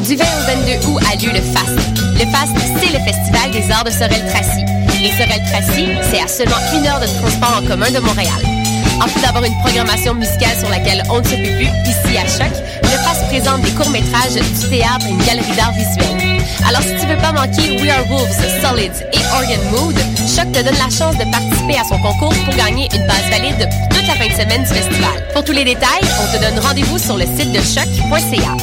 Du 20 au 22 août a lieu le FAST. Le FAST, c'est le Festival des arts de Sorel-Tracy. Et Sorel-Tracy, c'est à seulement 1 heure de transport en commun de Montréal. En plus d'avoir une programmation musicale sur laquelle on ne se peut plus, ici à Choc, le FAST présente des courts-métrages, du théâtre et une galerie d'art visuel. Alors si tu veux pas manquer We Are Wolves, Solids et Organ Mood, Choc te donne la chance de participer à son concours pour gagner une base valide pour toute la fin de semaine du festival. Pour tous les détails, on te donne rendez-vous sur le site de choc.ca.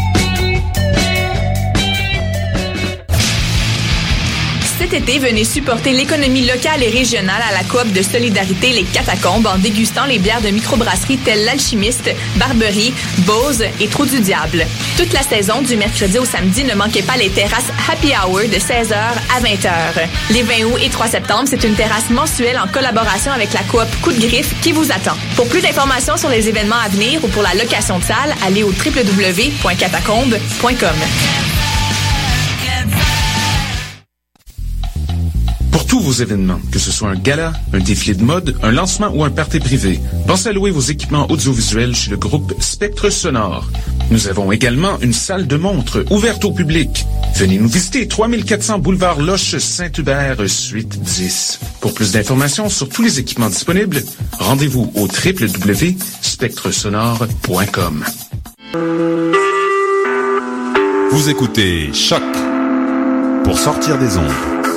Cet été, venez supporter l'économie locale et régionale à la coop de solidarité Les Catacombes en dégustant les bières de microbrasserie telles l'Alchimiste, Barberie, Bose et Trou du Diable. Toute la saison, du mercredi au samedi, ne manquez pas les terrasses Happy Hour de 16h à 20h. Les 20 août et 3 septembre, c'est une terrasse mensuelle en collaboration avec la coop Coup de Griffe qui vous attend. Pour plus d'informations sur les événements à venir ou pour la location de salle, allez au www.catacombes.com. Pour tous vos événements, que ce soit un gala, un défilé de mode, un lancement ou un party privé, pensez à louer vos équipements audiovisuels chez le groupe Spectre Sonore. Nous avons également une salle de montre ouverte au public. Venez nous visiter, 3400 boulevard Loche Saint-Hubert, suite 10. Pour plus d'informations sur tous les équipements disponibles, rendez-vous au www.spectresonore.com. Vous écoutez Choc pour sortir des ondes.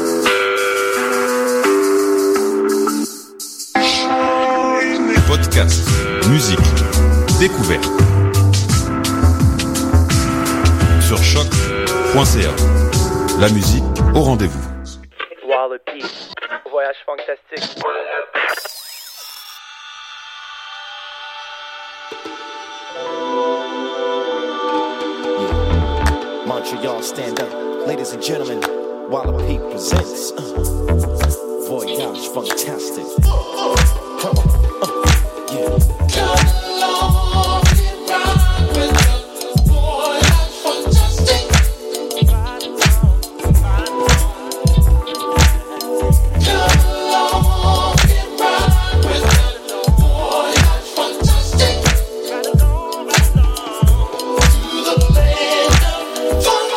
Podcast, musique, découverte. Sur choc.ca. La musique au rendez-vous. Wallopy, voyage fantastique. Montreal, stand up. Ladies and gentlemen, Wallopy presents Voyage Fantastic. Come on. Yeah. Come along and ride with us. Voyage Fantastic. Come along and ride with us. Voyage Fantastic. To the land of fun.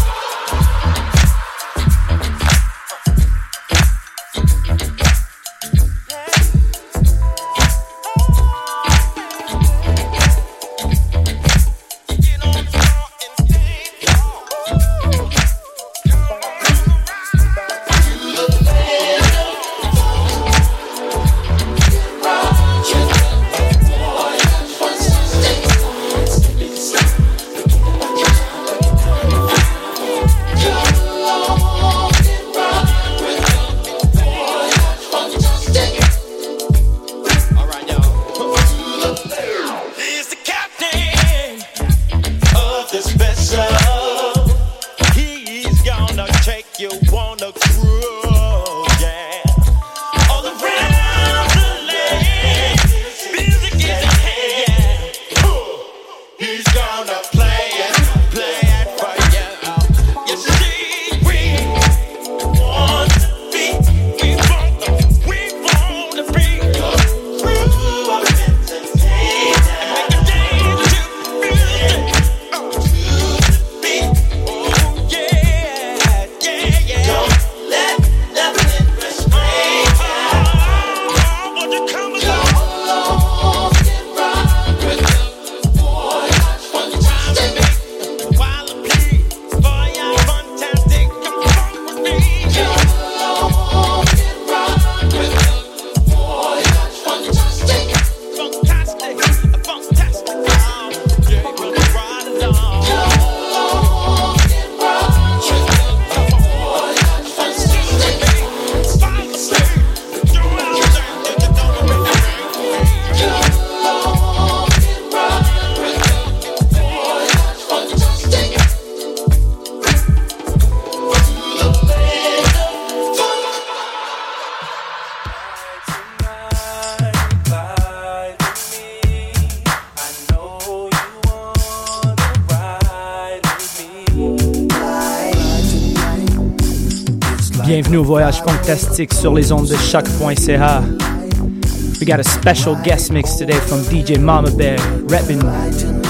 Bienvenue au Voyage Fantastique sur les ondes de choc.ca. We got a special guest mix today from DJ Mama Bear, repping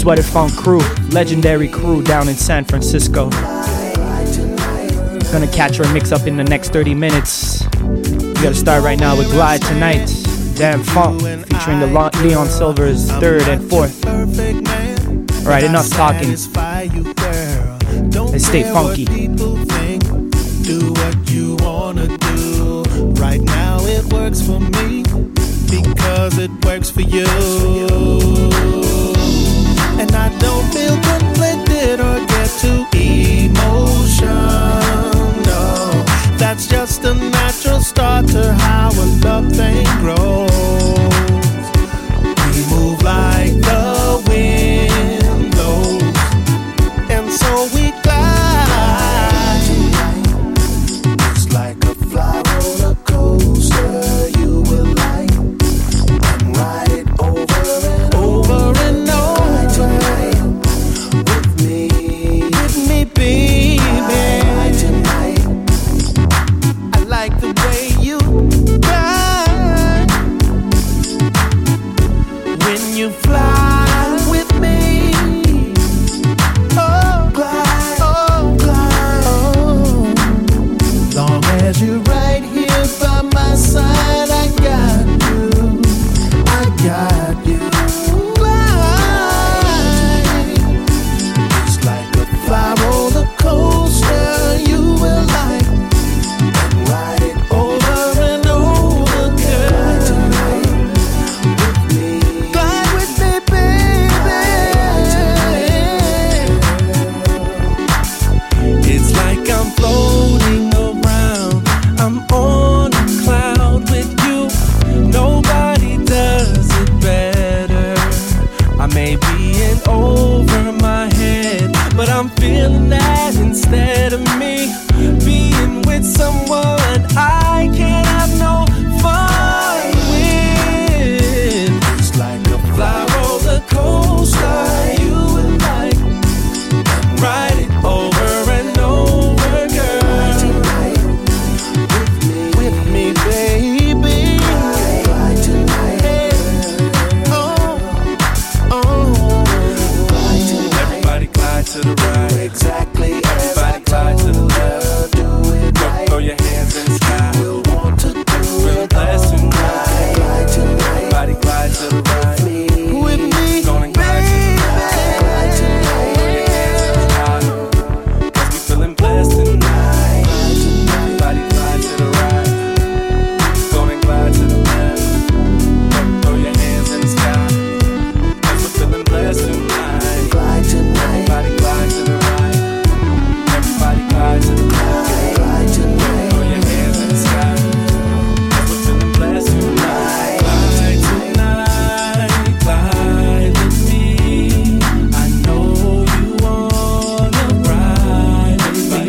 Sweater Funk crew, legendary crew down in San Francisco. Gonna catch our mix up in the next 30 minutes. We gotta start right now with Glide Tonight, Damn Funk, featuring the Leon Silvers 3rd and 4th. Alright, enough talking. Let's stay funky. Do what you wanna do. Right now it works for me because it works for you. And I don't feel conflicted or get too emotional. That's just a natural start to how a love thing grows. We move like the wind blows, and so we glide. It's like a fly roller coaster. You will like and ride it over and over and over. With me, baby. Tonight, I like the way you glide when you fly with me. Oh, glide, oh, glide, oh. Long as you're right here by my side, I got you, I got you. Glide, it's like a fly roller coaster. You will like and ride it over and over, girl. Tonight with me, glide with me, baby. It's like I'm floating around. I'm on a cloud with you. Nobody does it better. I may be in over my head, but I'm feeling that instead of me being with someone I can't have no fun with. It's like a fly roller coaster. You and I ride it over and over, girl. Tonight with me, baby. Ride tonight. Oh, oh. Everybody glide to the right. Exactly. Everybody glide to the left. Do it right. Throw your hands in the sky. We'll want to do it blessed tonight. Glide tonight. Everybody glide to the right. With me, gonna glide to the right. Glide tonight. Throw your hands in the sky. 'Cause we feeling blessed tonight. Everybody glide to the right. Gonna glide to the left. Throw your hands in the sky. 'Cause we're feeling blessed tonight. Glide tonight. Everybody glide to the right. Everybody glide to the left. Glide tonight. Throw your hands in the sky. 'Cause we're feeling blessed tonight. Glide tonight. Glide with me. I know you wanna ride with me.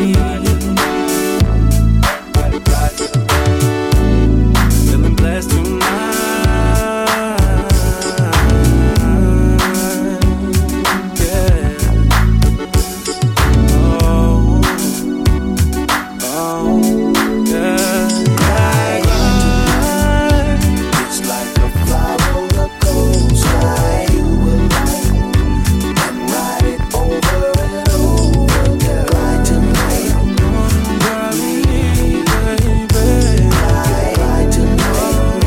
Everybody glide to the right. Feeling blessed tonight. Yeah. Oh, yeah. It's like a fly roller coaster. You will like and ride it over and over, girl. Ride tonight. Ride me, baby. Ride tonight.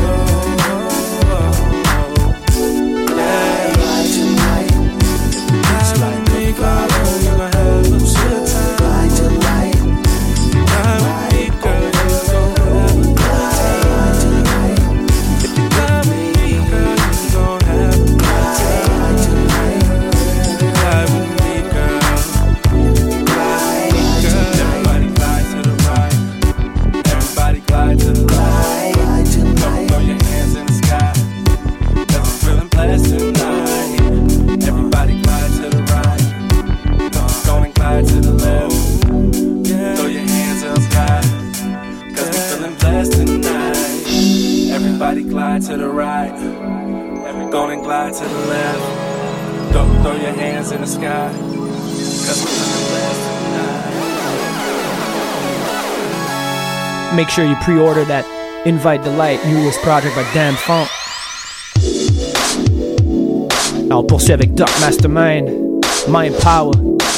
Yeah. Ride tonight. It's like a fly roller coaster. Ride tonight. Ride with me, girl. You're gonna have a good time. If you ride with me, girl, you're gonna have a good time. Ride with me, girl. Glide, girl. Everybody glide to the right. Everybody glide to the left. Throw your hands in the sky. 'Cause we're feeling blessed tonight. Everybody glide to the right. Gonna glide to the left. Throw your hands in the sky. 'Cause we're feeling blessed tonight. Everybody glide to the right. Gonna glide to the left. Throw your hands in the sky. 'Cause we're feeling blessed tonight. Make sure you pre-order that Invite the Light newest project by Damn Funk. Alors on poursuit avec Dark Mastermind, Mind Power.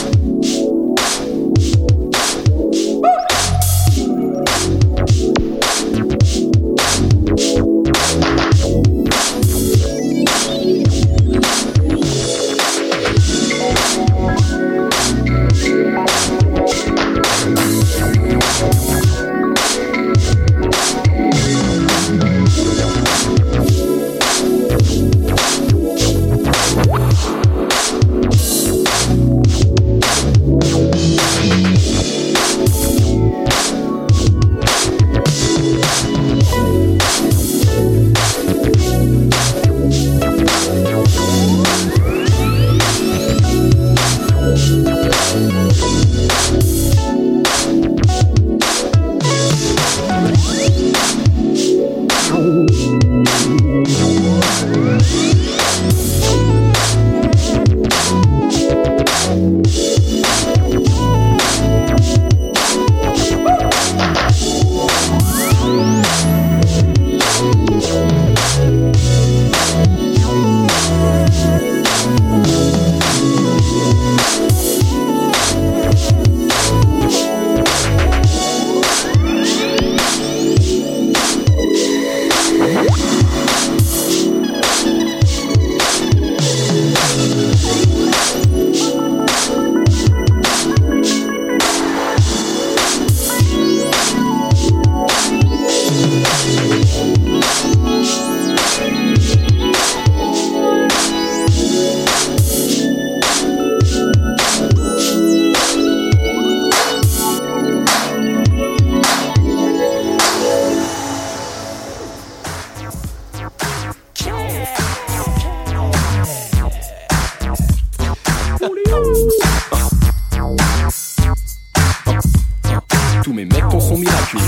Tous mes mecs sont miraculeux.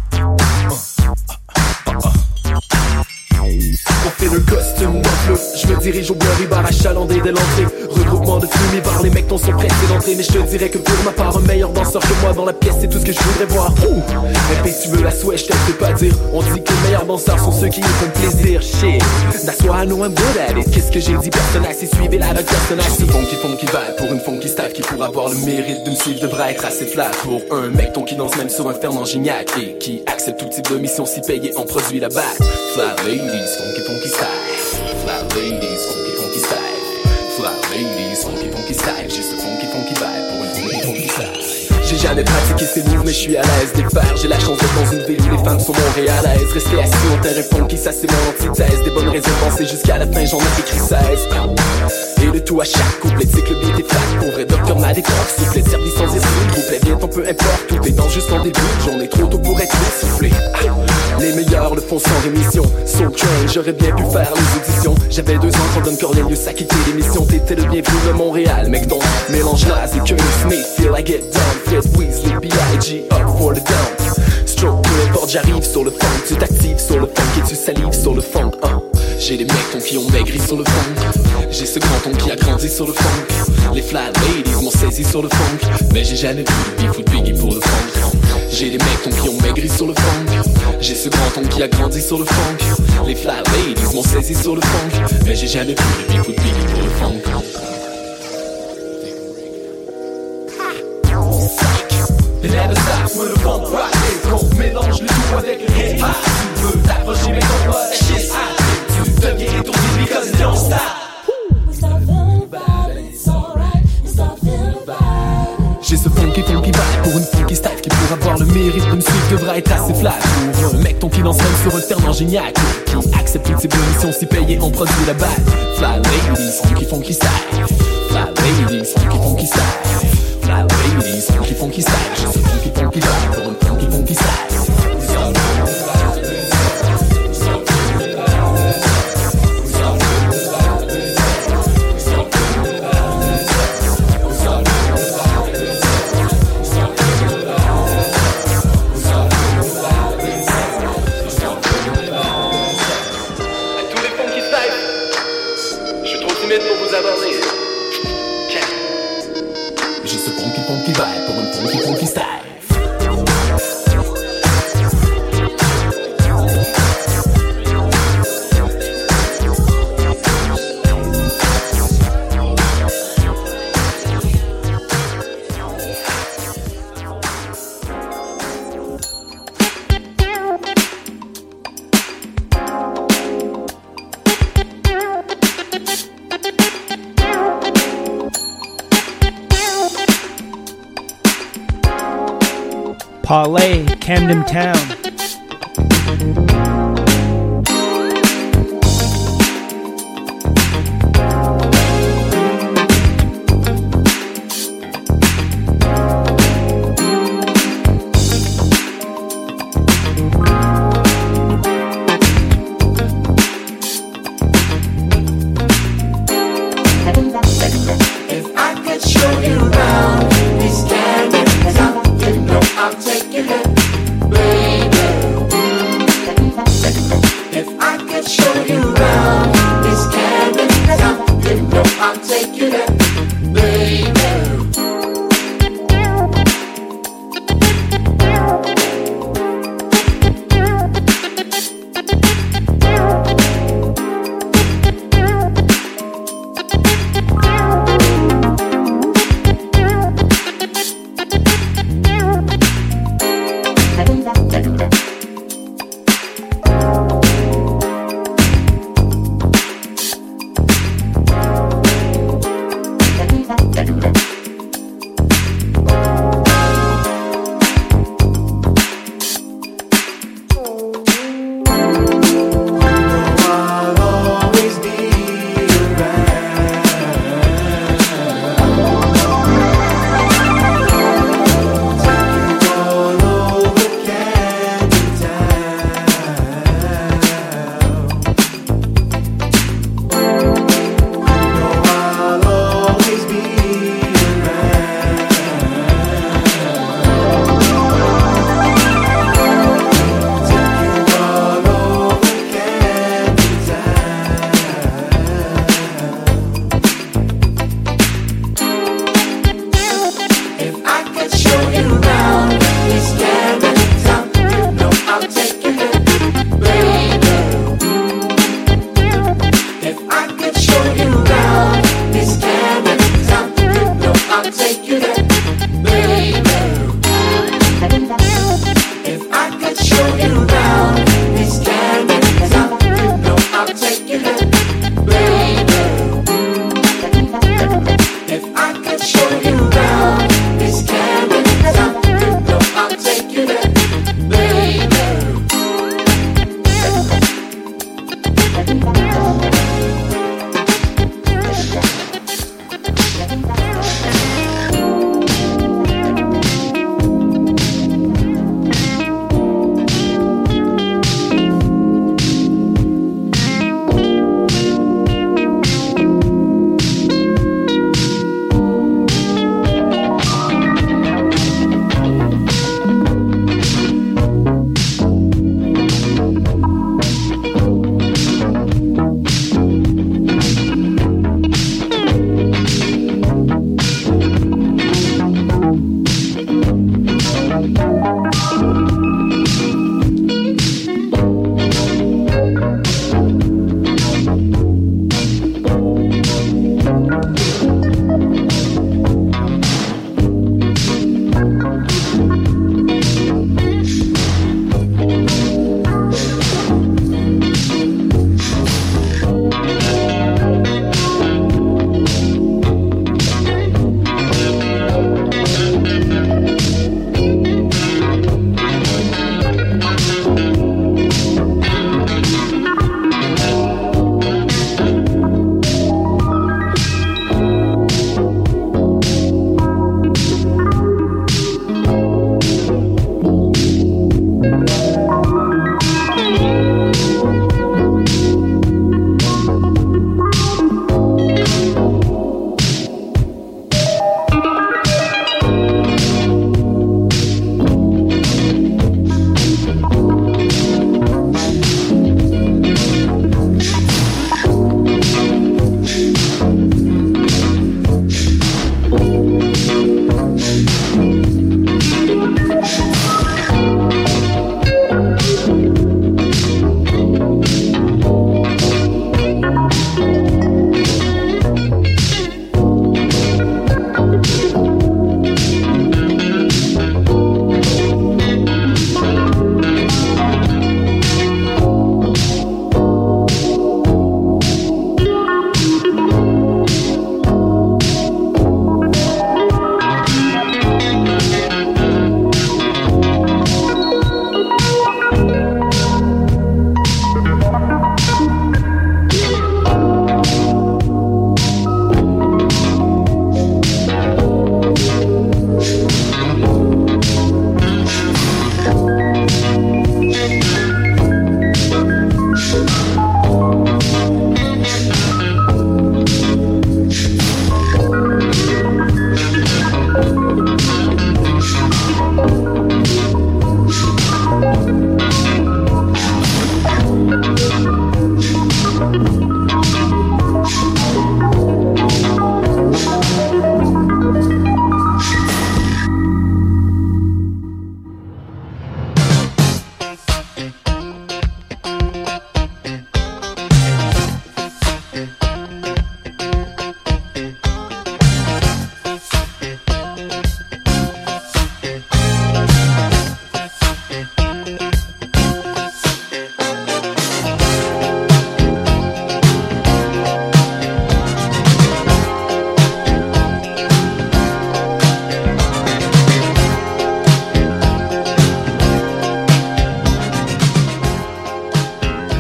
On fait le costume d'enfleux. Je me dirige au Blurry Bar achalandé dès l'entrée. Regroupement de fumée bar, les mecs sont pressés d'entrer. Mais je te dirais que pour ma part, un meilleur danseur que moi dans la pièce, c'est tout ce que je voudrais voir. Mais si tu veux la souhait, je te fais pas dire. On dit que les meilleurs danseurs sont ceux qui nous font plaisir. Shit, that's why I know I'm good at it. Qu'est-ce que j'ai dit, personnage, c'est suivez la avec personnage. C'est funky vibe pour une funky staff qui pourra avoir le mérite de me suivre devrait être assez flat. Pour un mec ton qui danse même sur un Fernand Gignac et qui accepte tout type de mission si payé en produit la batte. Fly ladies, funky style. Fly ladies, funky style. Fly ladies, funky style. Juste funky vibe pour une funky style. J'ai jamais pratiqué ces moves mais je suis à l'aise des faire. J'ai la chance d'être dans une ville où les femmes sont montréalaises. Rester assis en terrain funky, ça c'est mon antithèse. Des bonnes raisons de penser jusqu'à la fin, j'en ai écrit 16. Et le tout à chaque couplet, c'est que le beat est fat. Pour vrai docteur m'a des corps, soufflet, service sans esprit. Couplet bientôt peu importe, tout est dans juste en début. J'en ai trop tôt pour être essoufflé. Les meilleurs le font sans rémission. Soul Train, j'aurais bien pu faire les auditions. J'avais 2 ans quand Don Cornelius a quitté l'émission. T'étais le bienvenu de Montréal, mec donc mélange naze et Curtis Smith. Feel I get down, Fred Weasley, B.I.G. up for the down. Stroke, peu importe, j'arrive sur le funk. Tu t'actives sur le funk et tu salives sur le funk. J'ai des mecs qui ont maigri sur le funk. J'ai ce grand ton qui a grandi sur le funk. Les fly ladies m'ont saisi sur le funk. Mais j'ai jamais vu de beef ou de Biggie pour le funk. J'ai des mecs qui ont maigri sur le funk. J'ai ce grand ton qui a grandi sur le funk. Les fly ladies m'ont saisi sur le funk. Mais j'ai jamais vu de beef ou de Biggie pour le funk. It never stops when the funk rock is cold. Mélange le tout avec le hip-hop. Tu veux t'approcher mais ton pas shit's hot. Tu deviens étourdi because it don't stop. J'ai ce funky vibe pour une funky style qui pour avoir le mérite de me suivre devra être assez flat. Pour un mec ton qui lance même sur un Fernand Gignac qui accepte toutes ses missions si payé en produit la batte. Fly ladies, funky style. Fly ladies, funky style. Fly ladies, funky style. J'ai ce funky vibe pour une funky style. Pour vous aborder. J'ai ce funky vibe pour une funky style. Parlay, Camden Town. I'll take you there, baby.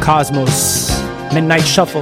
Cosmos, Midnight Shuffle.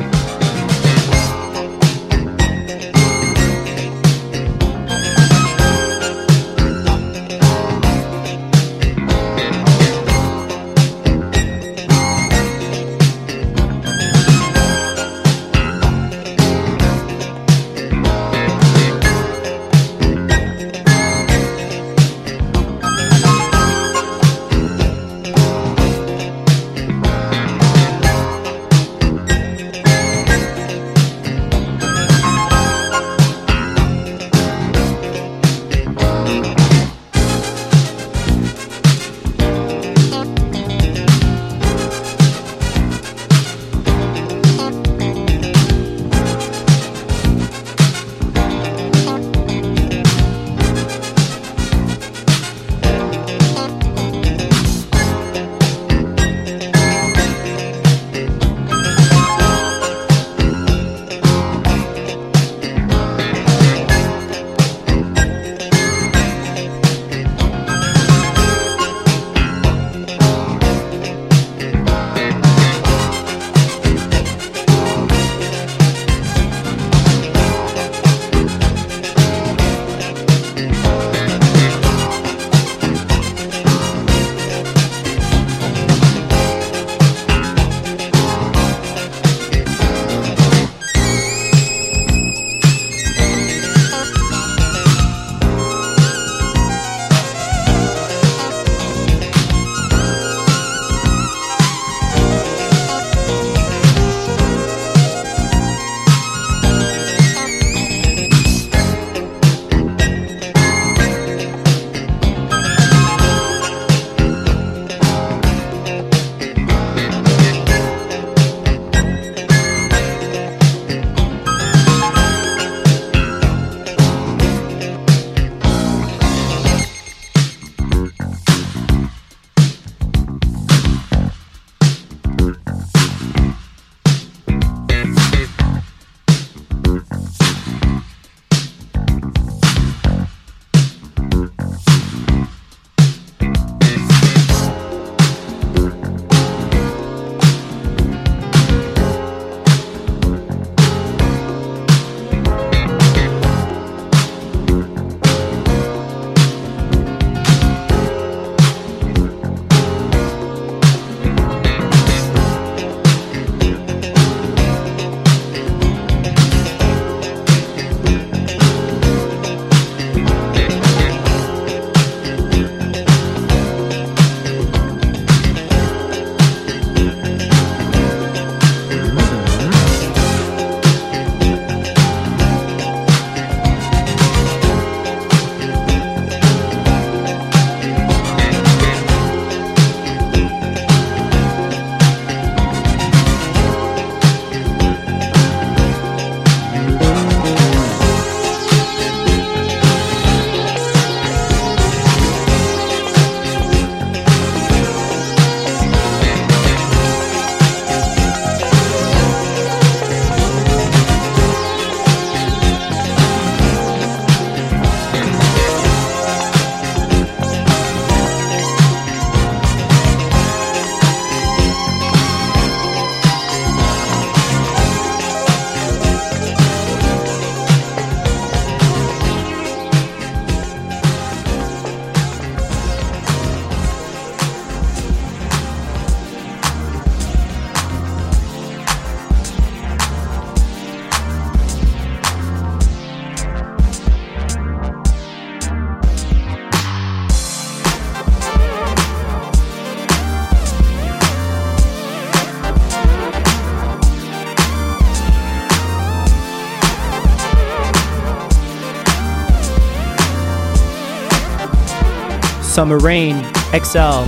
Summer Rain, XL,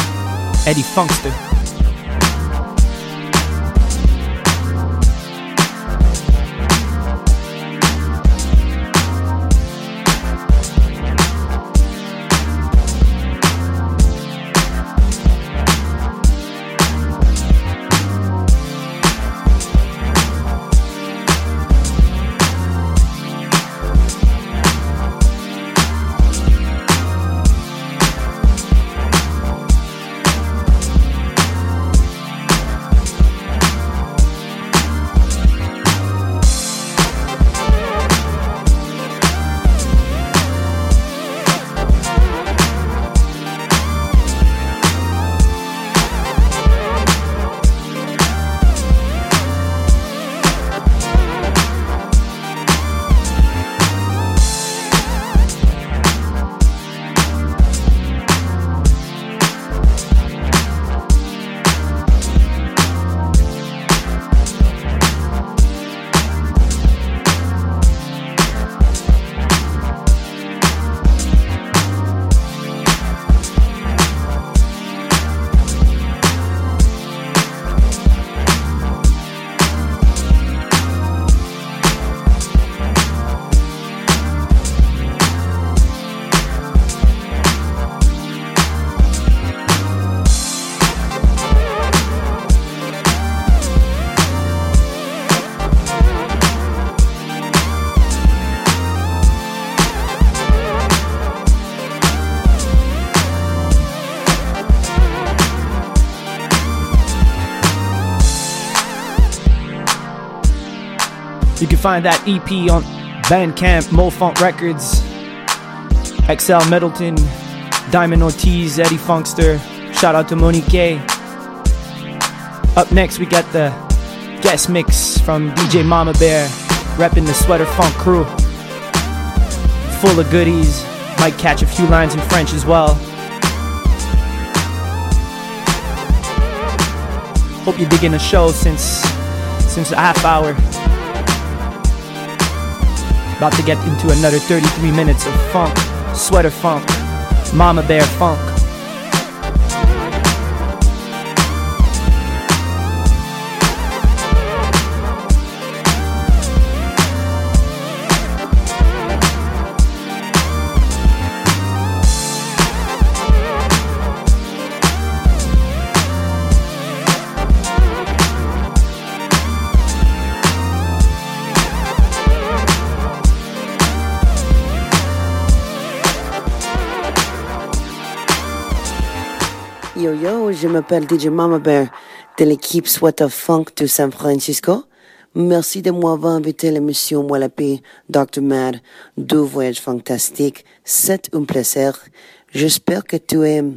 Eddie Funkster. find that EP on Bandcamp, Mo-Funk Records, XL Middleton, Diamond Ortiz, Eddie Funkster. Shout out to Monique. Up next, we got the guest mix from DJ Mama Bear, repping the Sweater Funk crew. Full of goodies. Might catch a few lines in French as well. Hope you're digging the show since a half hour. About to get into another 33 minutes of funk, Sweater Funk, Mama Bear Funk. Yo, je m'appelle DJ Mama Bear de l'équipe Sweater Funk de San Francisco. Merci de m'avoir invité à l'émission Moi la paix, Dr. Mad, deux voyages fantastiques. C'est un plaisir. J'espère que tu aimes.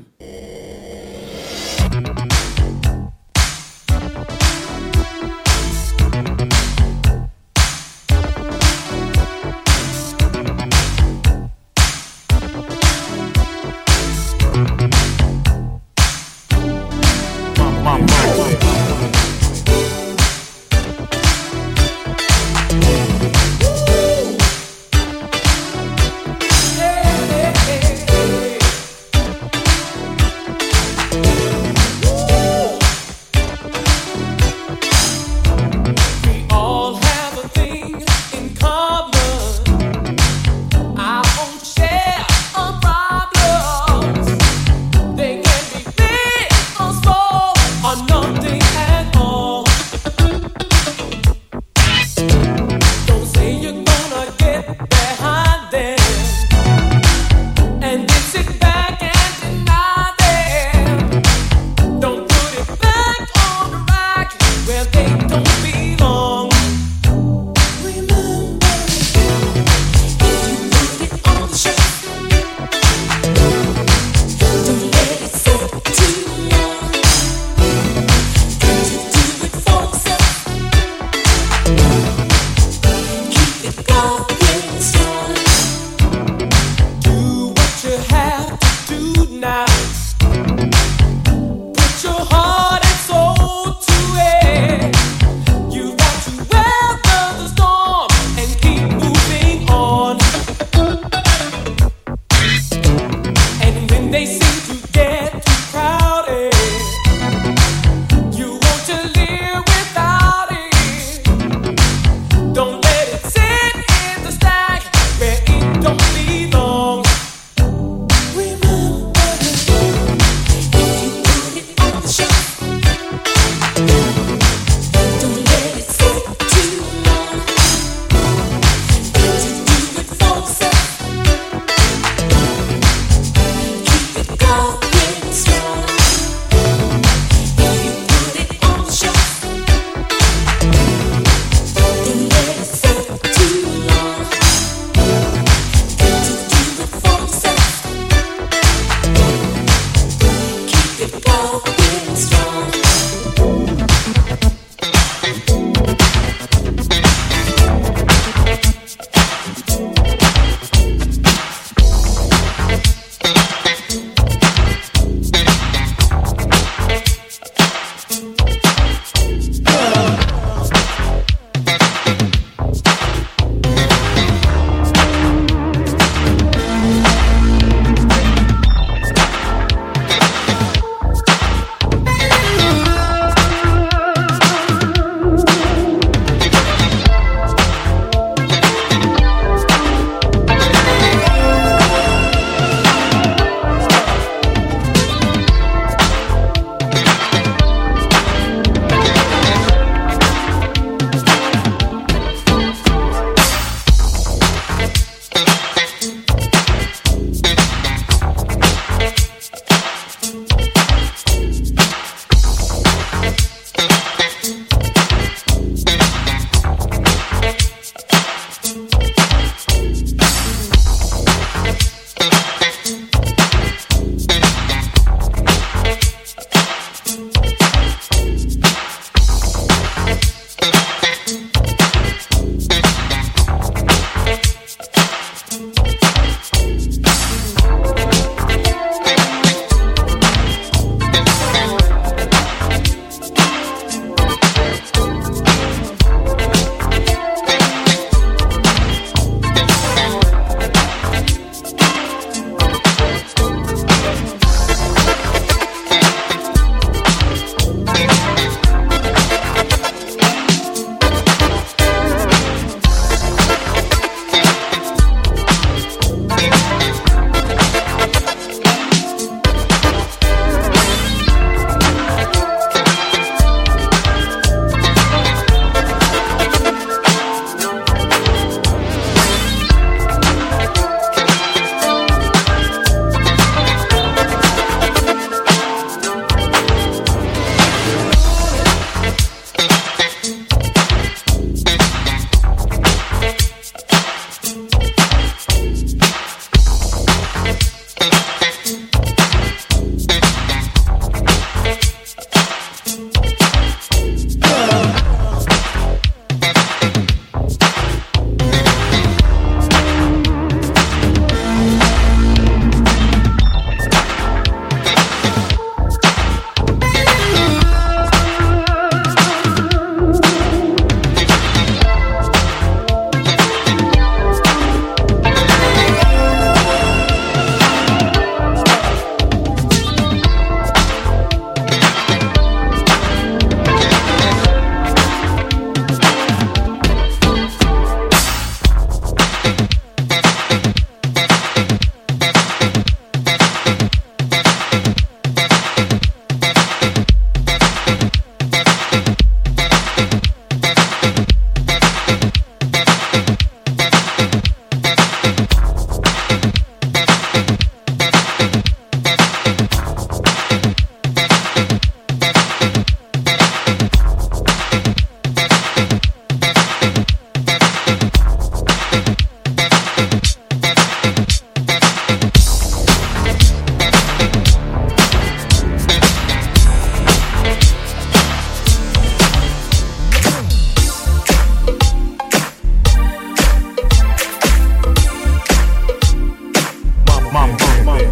Mama Bear.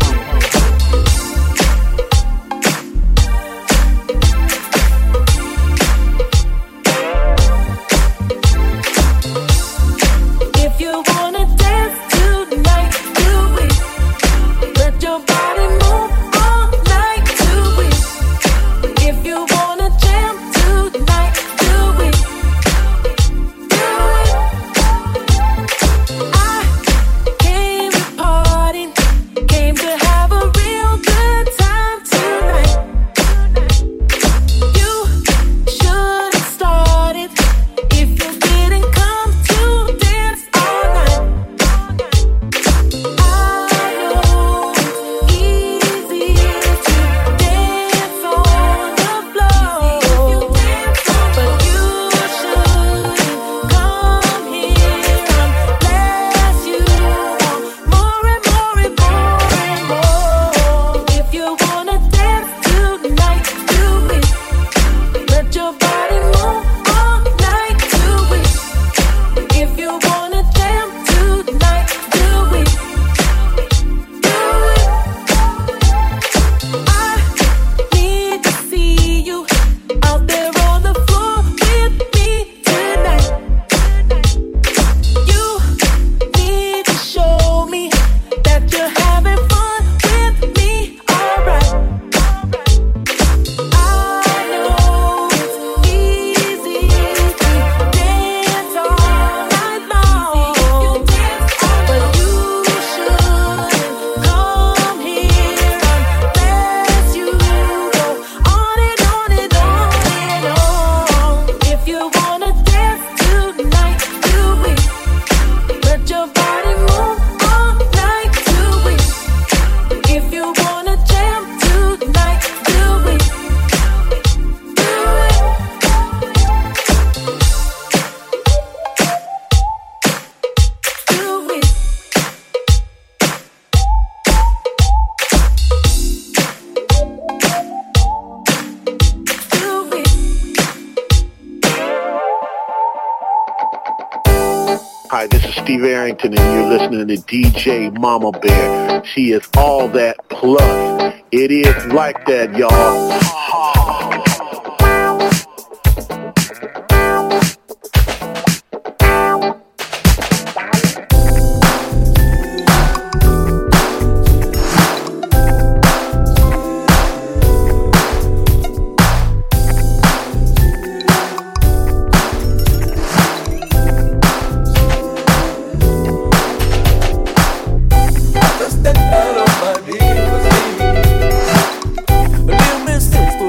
If you wanna dance tonight, do it. Let your body move all night, do it. If you wanna jam tonight, do it. Do it. I came to party, came to have a real good time tonight. You should have started if you didn't come to dance all night. I know it's easy to dance on the floor, but you should come here unless you want more and more and more and more. If you wanna dance tonight, do it. Let your body move all night, do it. If you wanna jam tonight, do it. Do it. I need to see you out there on the floor with me tonight. You need to show me that you're having fun with me, alright. I know it's easy to dance all night long, but you should come here unless you go on and on and on and on. If you wanna dance tonight, do it. Let your body move all night, do it. If you wanna jam tonight, do it. Do it. Do it. Do it. Hi, this is Steve Arrington, and you're listening to DJ Mama Bear. She is all that plus. It is like that, y'all. Just that out of my dear was me. Little Miss Sister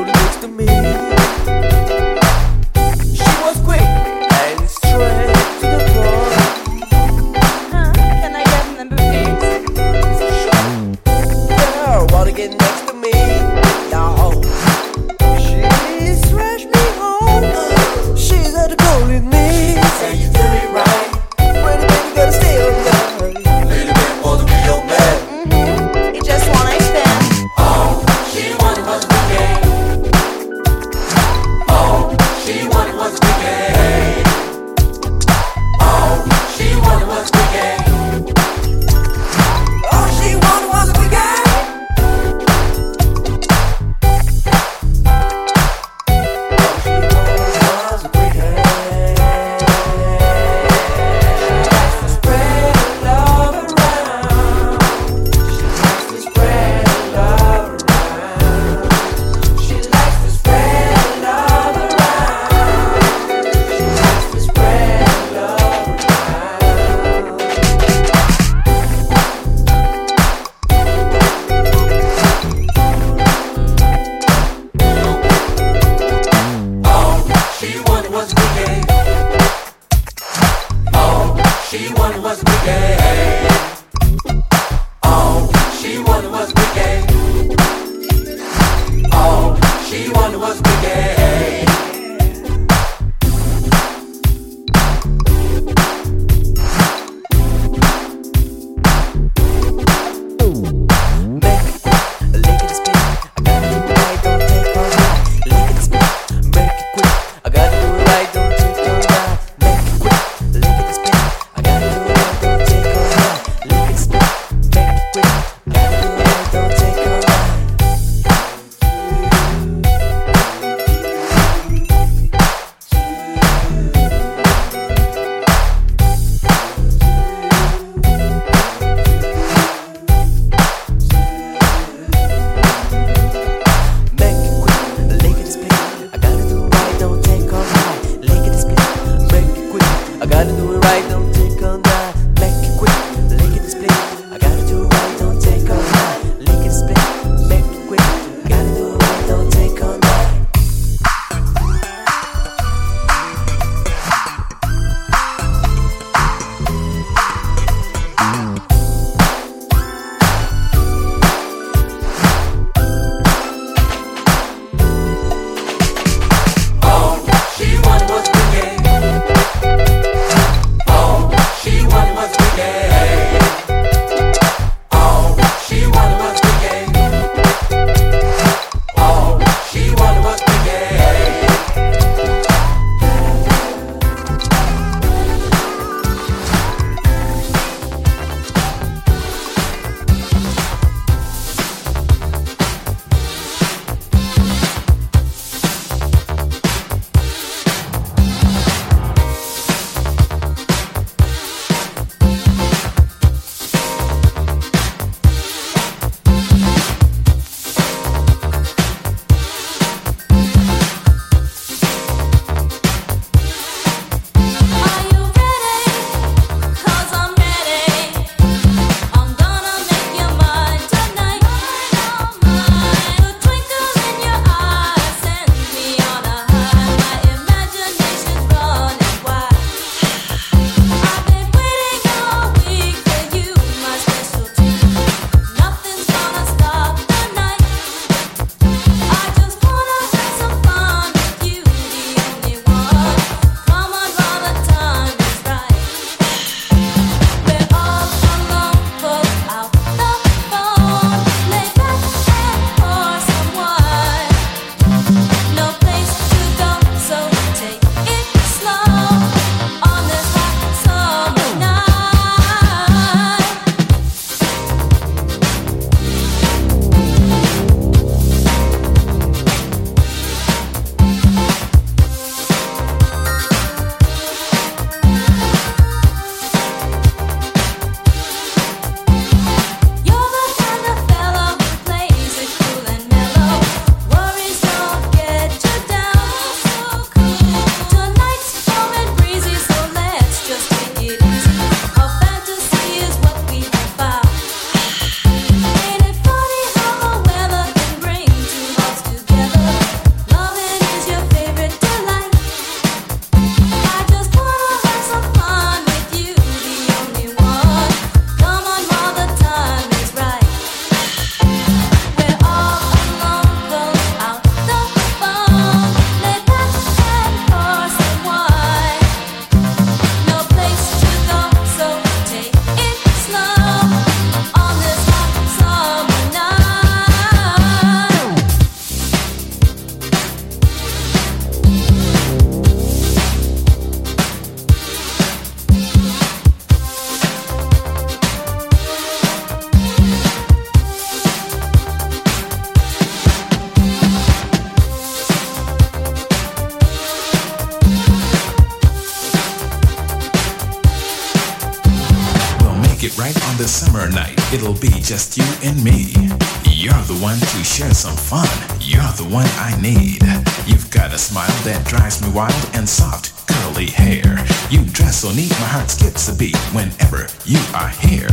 on this summer night, it'll be just you and me. You're the one to share some fun. You're the one I need. You've got a smile that drives me wild and soft, curly hair. You dress so neat, my heart skips a beat whenever you are here.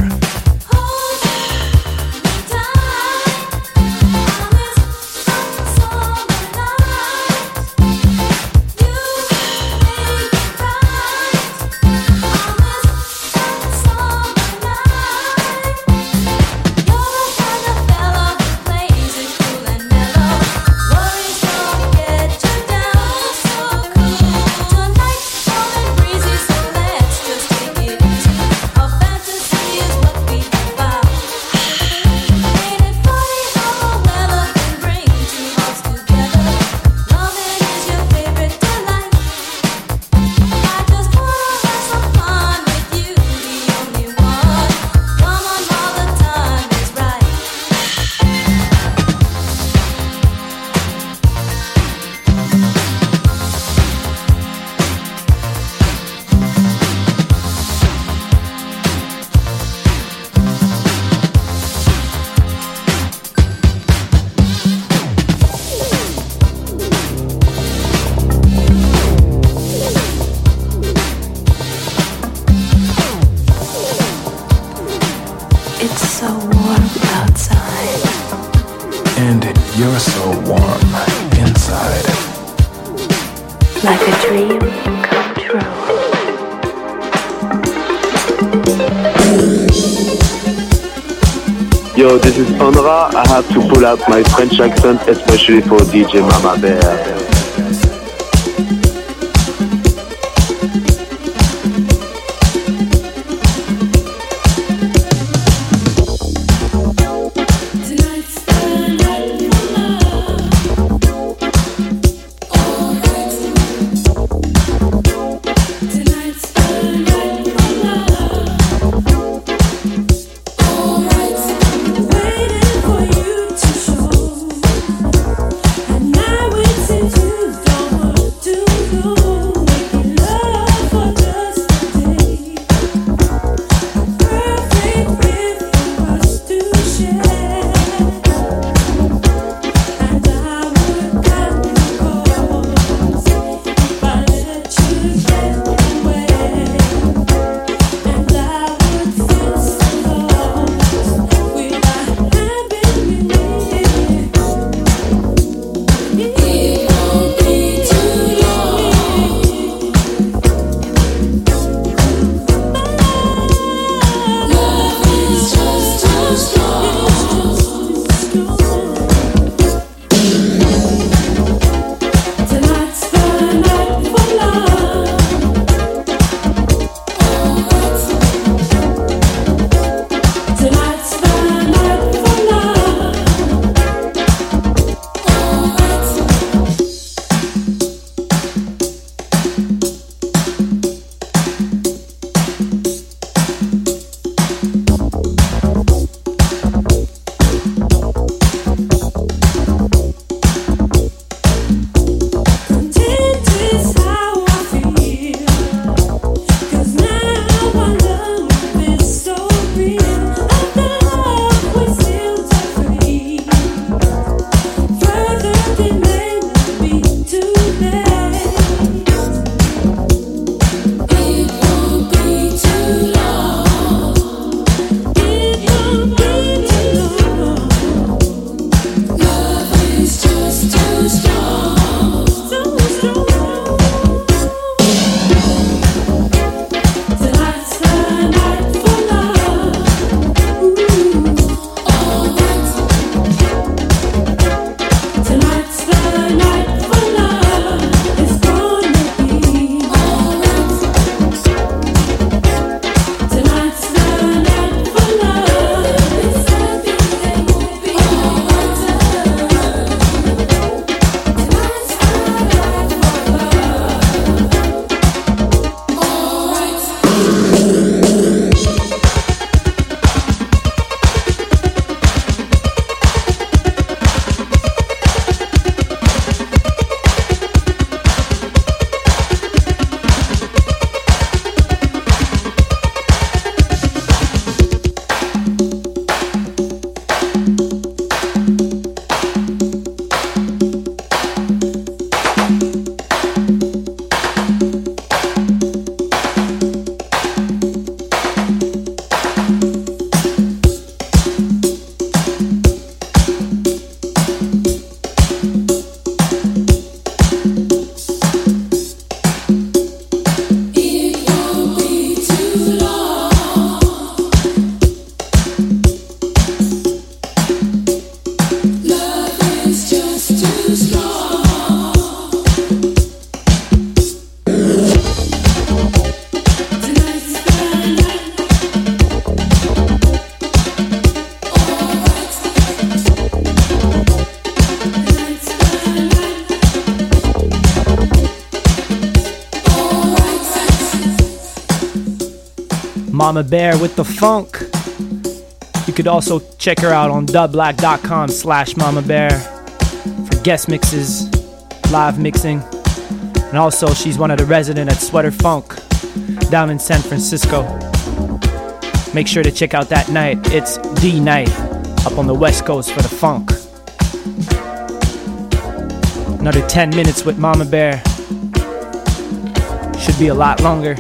It's so warm outside. And you're so warm inside. Like a dream come true. Yo, this is Onra. I have to pull out my French accent, especially for DJ Mama Bear. Waiting for you to show, and now it's Mama Bear with the funk. You could also check her out on dubblack.com/Mama Bear for guest mixes, live mixing. And also, she's one of the residents at Sweater Funk down in San Francisco. Make sure to check out that night. It's D night up on the West Coast for the funk. Another 10 minutes with Mama Bear. Should be a lot longer.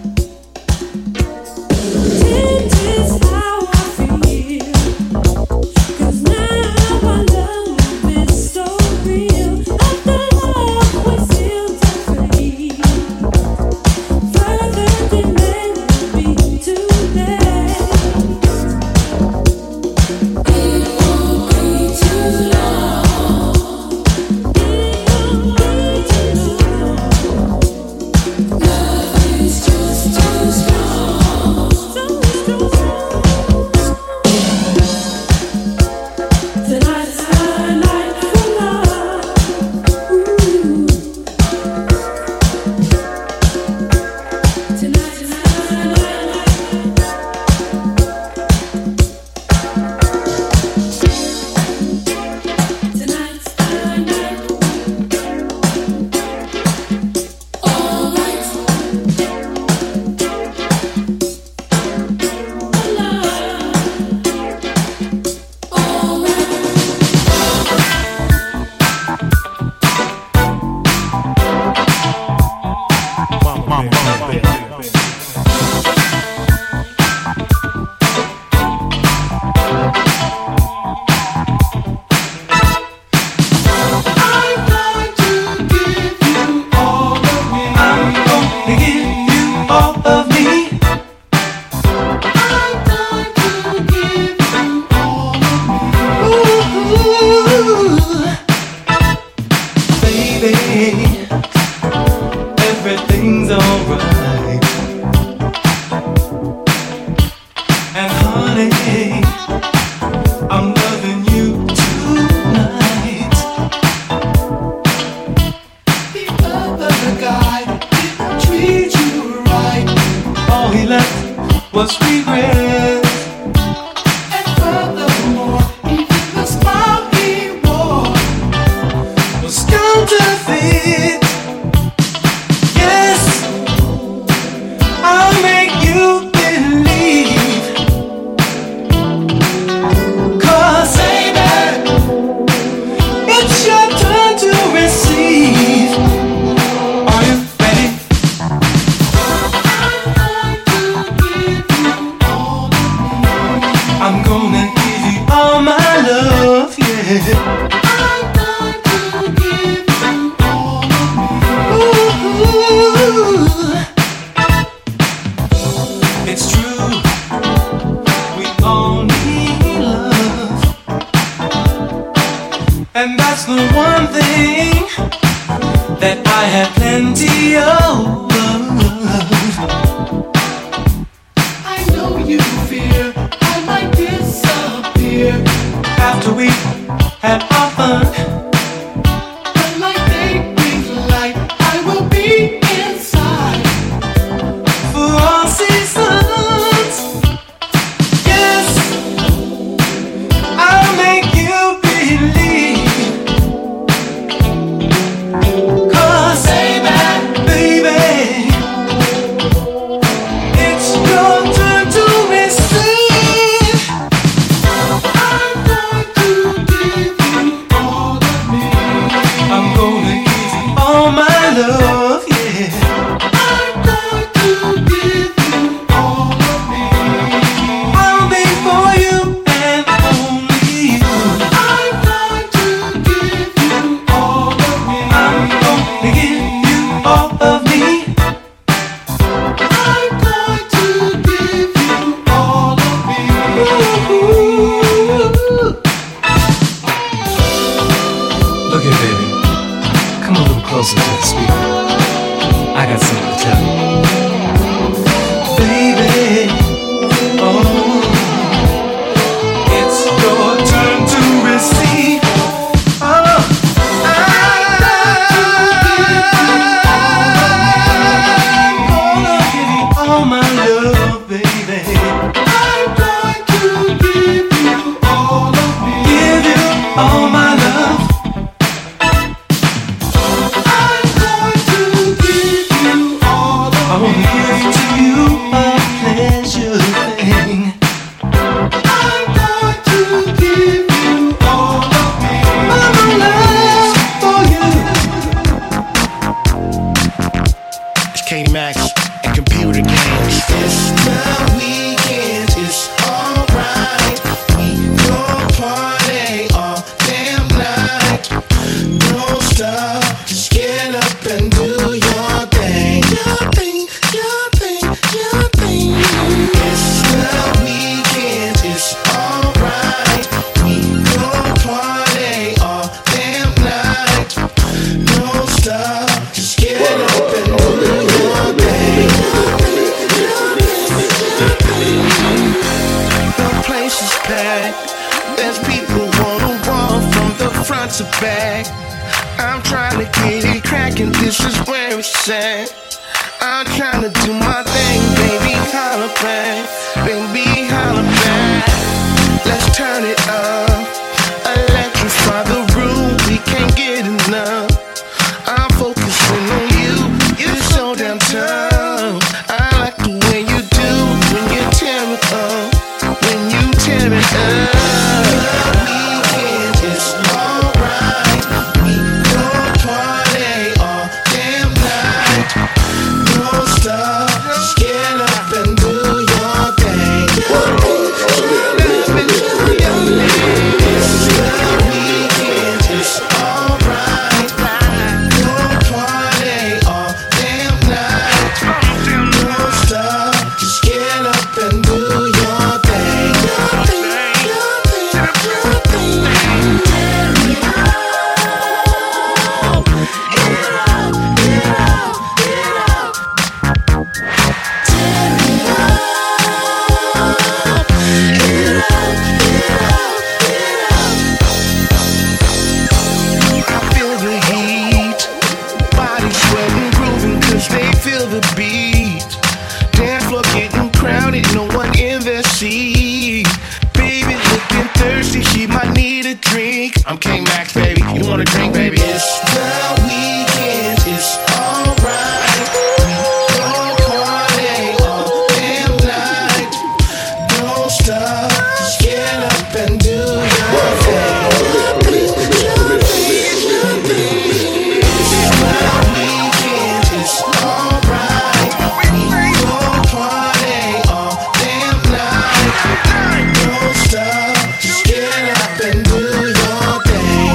Everything's alright. And honey, I'm loving you tonight. The other guy didn't treat you right. All he left was regret. And furthermore, even the smile he wore was counterfeit. I'll make you believe. 'Cause baby, it's your turn to receive. Are you ready? I'm gonna give you all my love, yeah. It's true, we all need love, and that's the one thing that I have plenty of. I know you fear I might disappear after we had our fun, but like daybreak light, I will be inside for all seasons. Yes, I'll make you believe. 'Cause baby, it's your turn to receive. I'm going to give you all all my love. I'm going to give you all of me. Give to you a pleasure thing. I'm going to give you all of me. All my love for you. It's Katie Max and computer games. It's the weekend, it's alright. We gon' party all damn night. Don't stop, just get up and do your thing. Your thing, your thing, your thing. It's the weekend, it's alright. We gon' party all damn night. Don't stop, just get up and do your thing. The place is packed. There's people wall from the front to back. I'm trying to get it crackin', this is where it's at. I'm trying to do my thing, baby, holla back. Baby, holla back. Let's turn it up. Electrify the room, we can't get enough. I'm focusing on you, you're so damn tough. I like the way you do when you tear it up. When you tear it up. Weekend is alright. We gon' party all damn night. Don't stop, just get up and do your thing. Get up and do your thing. It's the weekend is alright. Gon' party all damn night. Don't stop, just get up and do your thing. Your thing, your thing, your thing. I feel the heat, body sweating, grooving 'cause they feel the beat. Dance floor getting crowded, no one in their seat. Baby looking thirsty, she might need a drink. I'm King Max, baby. You want a drink, baby? It's the weekend, it's alright. We gon' party all damn night. Don't stop, just get up and do your thing. Don't stop, just get up and do your thing.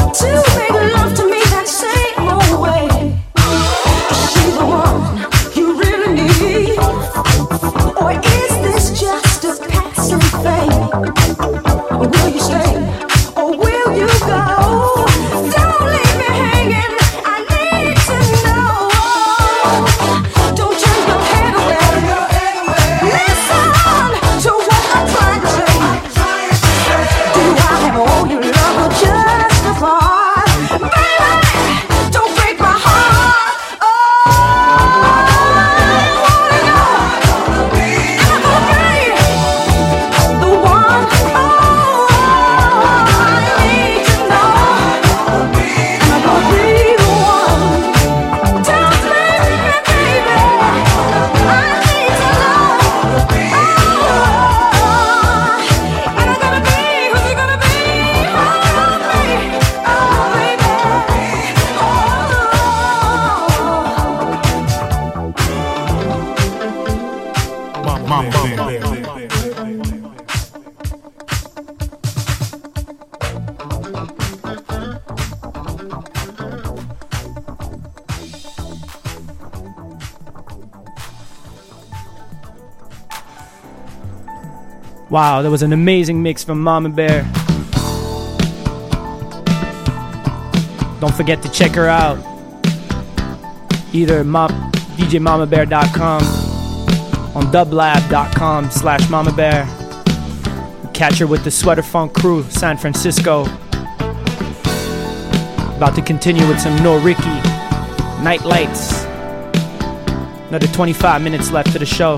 Wow, that was an amazing mix from Mama Bear. Don't forget to check her out. Either DJMamaBear.com, on dublab.com/MamaBear. Catch her with the Sweater Funk crew, San Francisco. About to continue with some No Ricky, Night Lights. Another 25 minutes left of the show.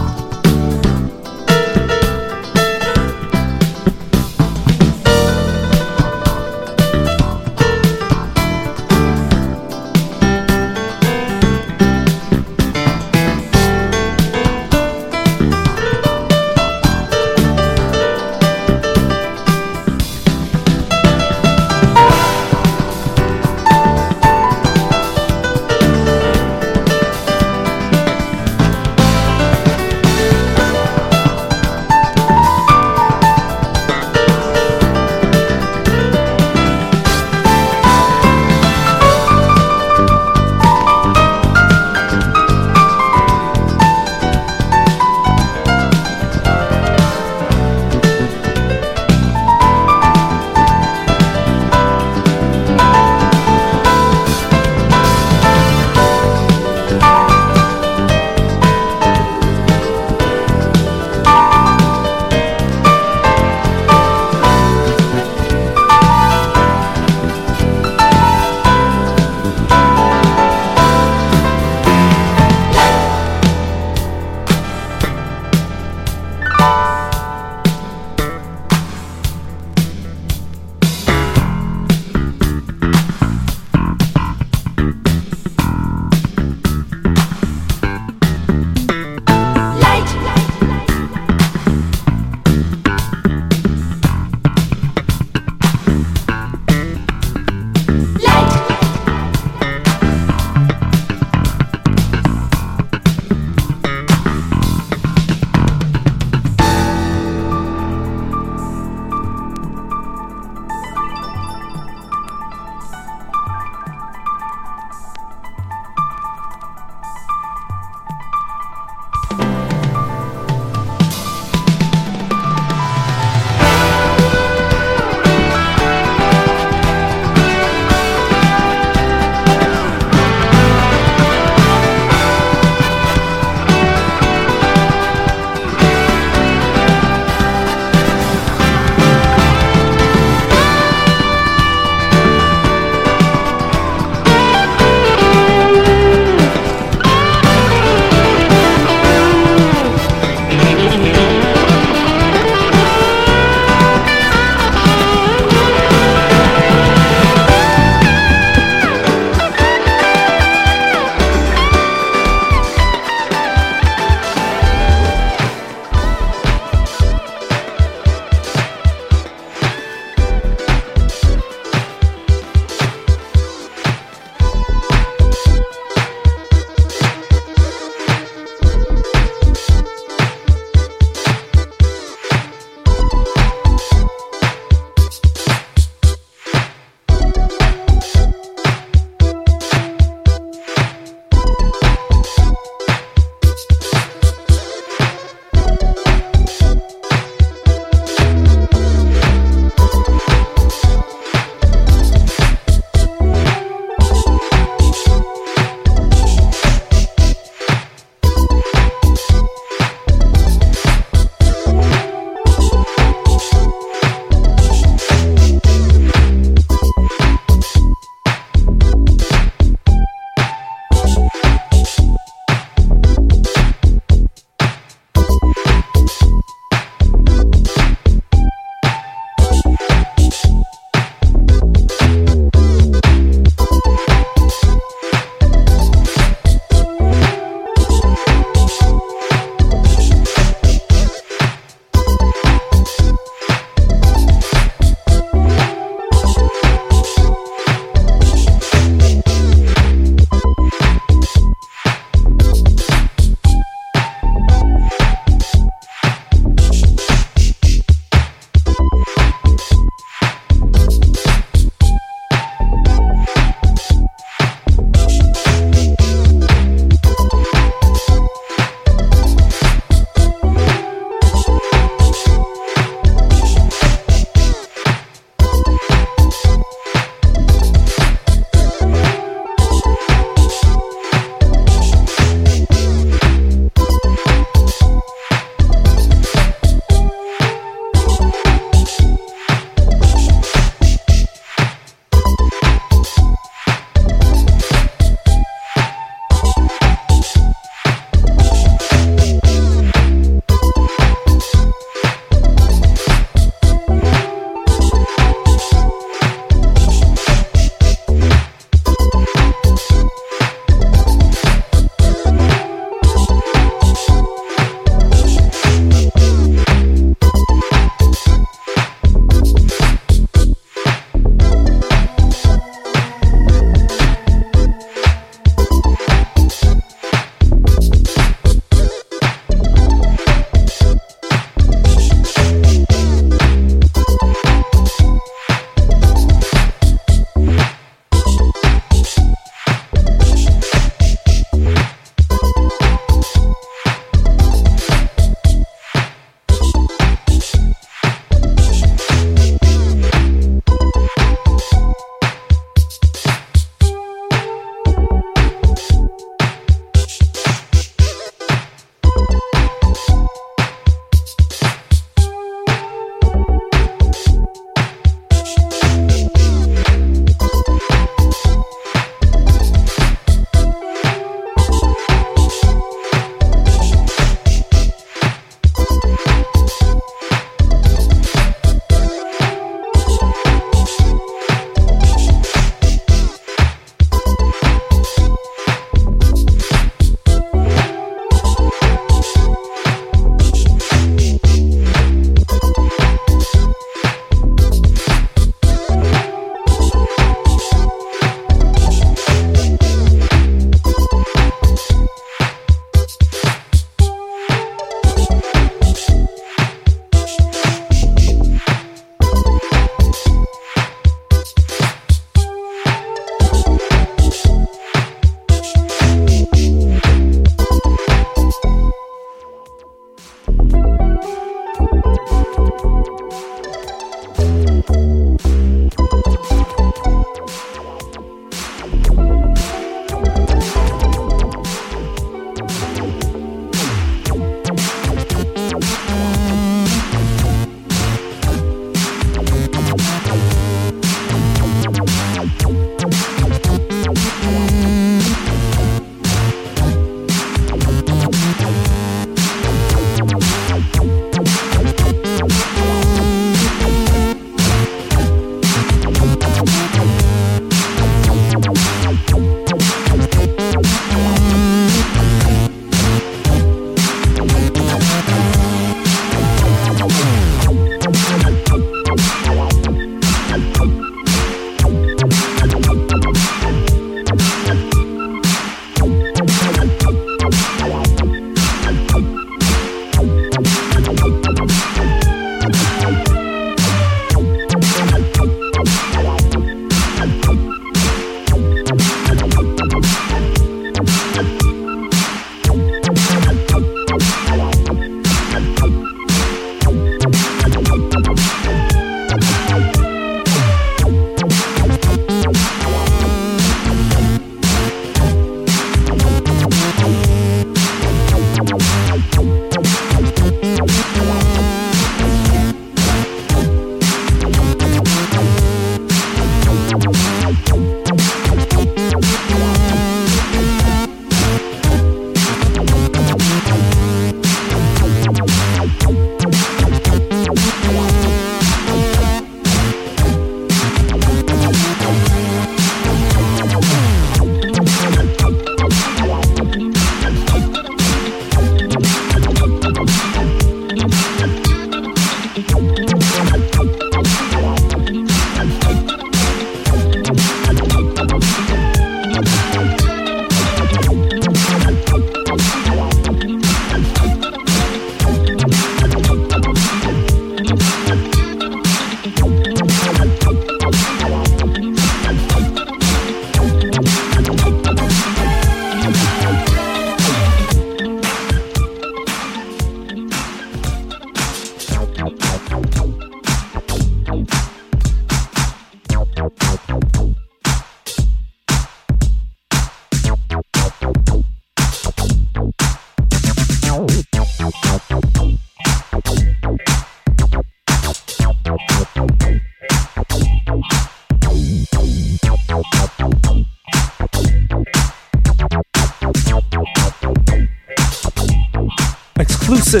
Exclusive.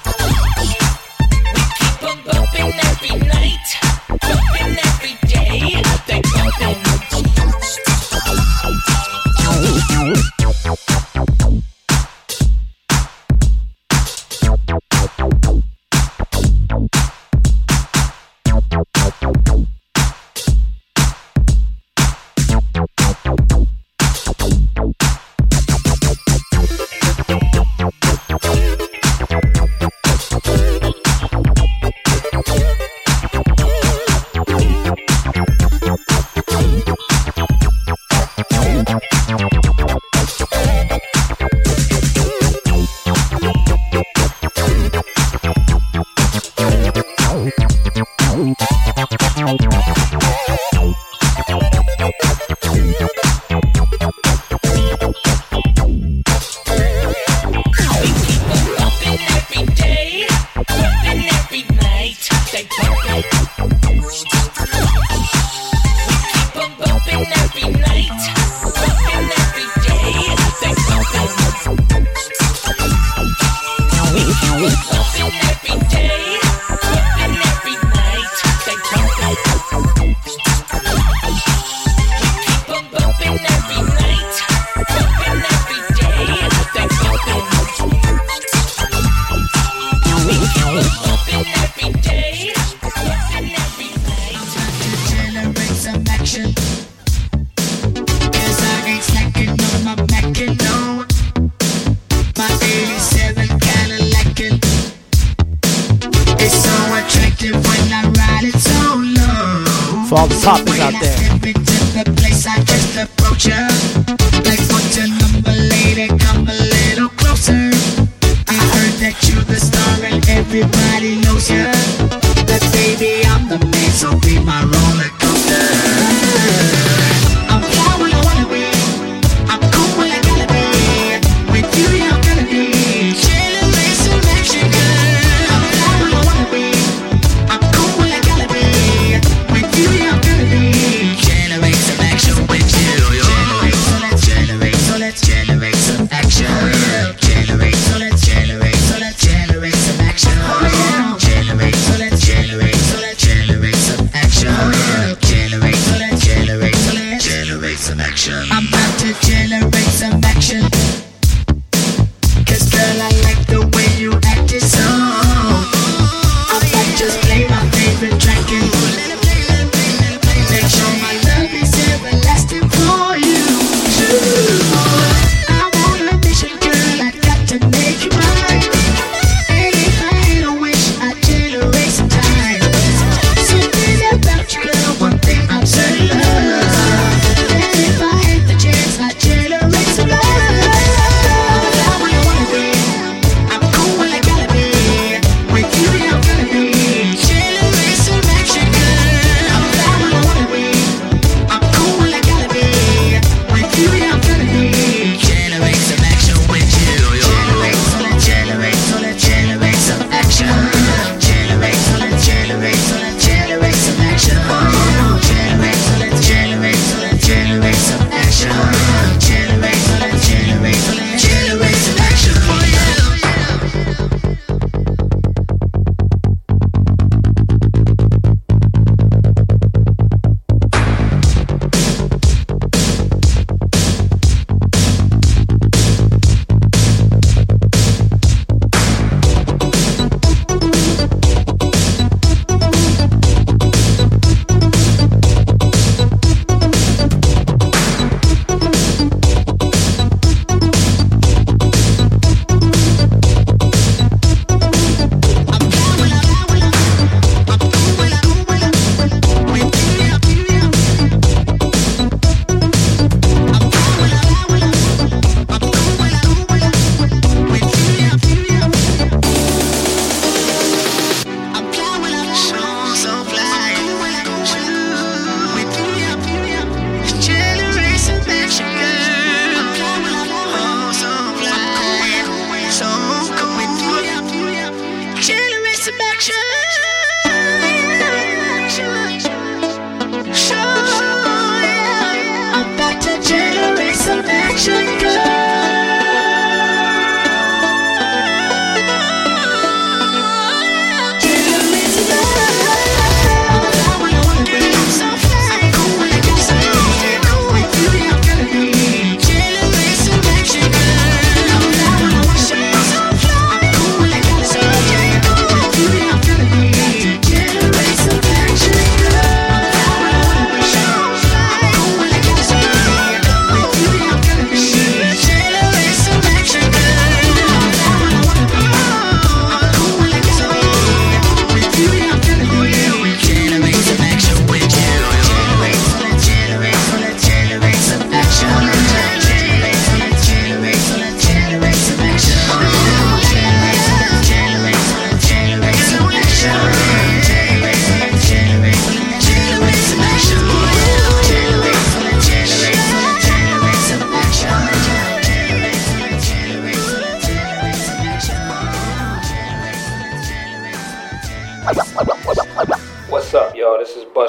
Every night, every day. For all the poppers out there. Everybody knows ya. But baby, I'm the man, so be my roller coaster. I'm fly when I wanna be. I'm cool when I gotta be. With you, I'm gonna be. Generate some action, girl. I'm fly when I wanna be. I'm cool when I gotta be. With you, I'm gonna be. Generate some action with you. Generate, so let's generate some action. Generate, so let's generate some action. Generate, so let's generate some action.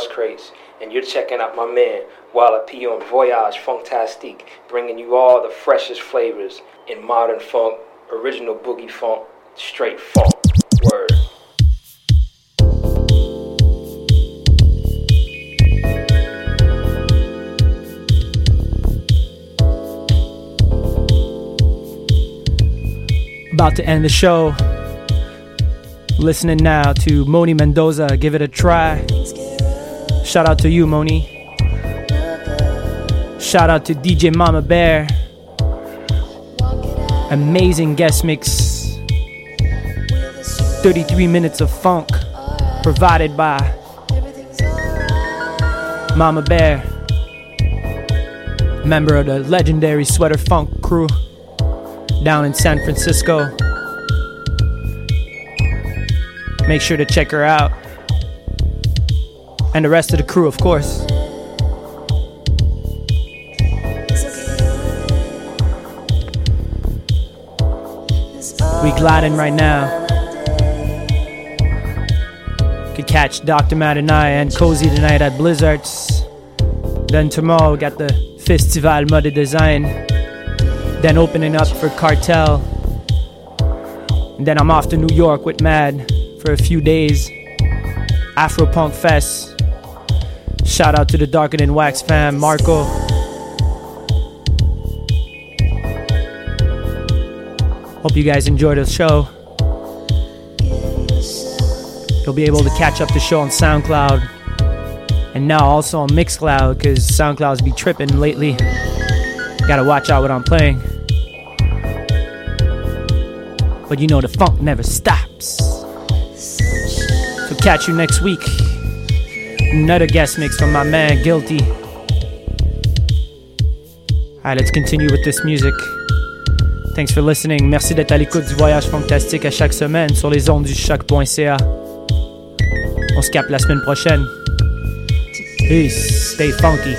Dust Crates, and you're checking out my man, Walla P on Voyage Funktastique, bringing you all the freshest flavors in modern funk, original boogie funk, straight funk. Word. About to end the show. Listening now to Moni Mendoza, Give It a Try. Shout out to you, Moni. Shout out to DJ Mama Bear. Amazing guest mix. 33 minutes of funk provided by Mama Bear, member of the legendary Sweater Funk crew down in San Francisco. Make sure to check her out. And the rest of the crew, of course. We gliding right now. Could catch Dr. Matt and I and Cozy tonight at Blizzards. Then tomorrow we got the Festival Mode Design. Then opening up for Cartel. And then I'm off to New York with Mad for a few days. Afropunk Fest. Shout out to the Darker Than Wax fam, Marco. Hope you guys enjoyed the show. You'll be able to catch up the show on SoundCloud. And now also on Mixcloud, because SoundCloud's be tripping lately. Gotta watch out what I'm playing. But you know the funk never stops. So catch you next week. Another guest mix from my man Guilty. Alright, let's continue with this music. Thanks for listening. Merci d'être à l'écoute du Voyage Funktastique à chaque semaine sur les ondes du choc.ca. On se capte la semaine prochaine. Peace. Stay funky.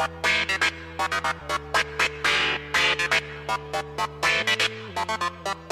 Thank you.